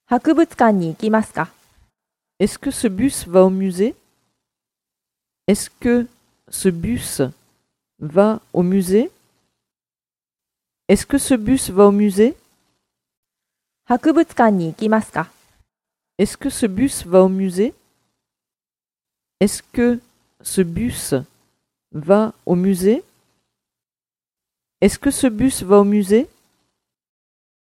博物館に行きますか？ Est-ce que ce bus va au musée? Est-ce que ce bus va au musée? Est-ce que ce bus va au musée? 博物館に行きますか？ Est-ce que ce bus va au musée? Est-ce que ce bus va au musée? Est-ce que ce bus va au musée?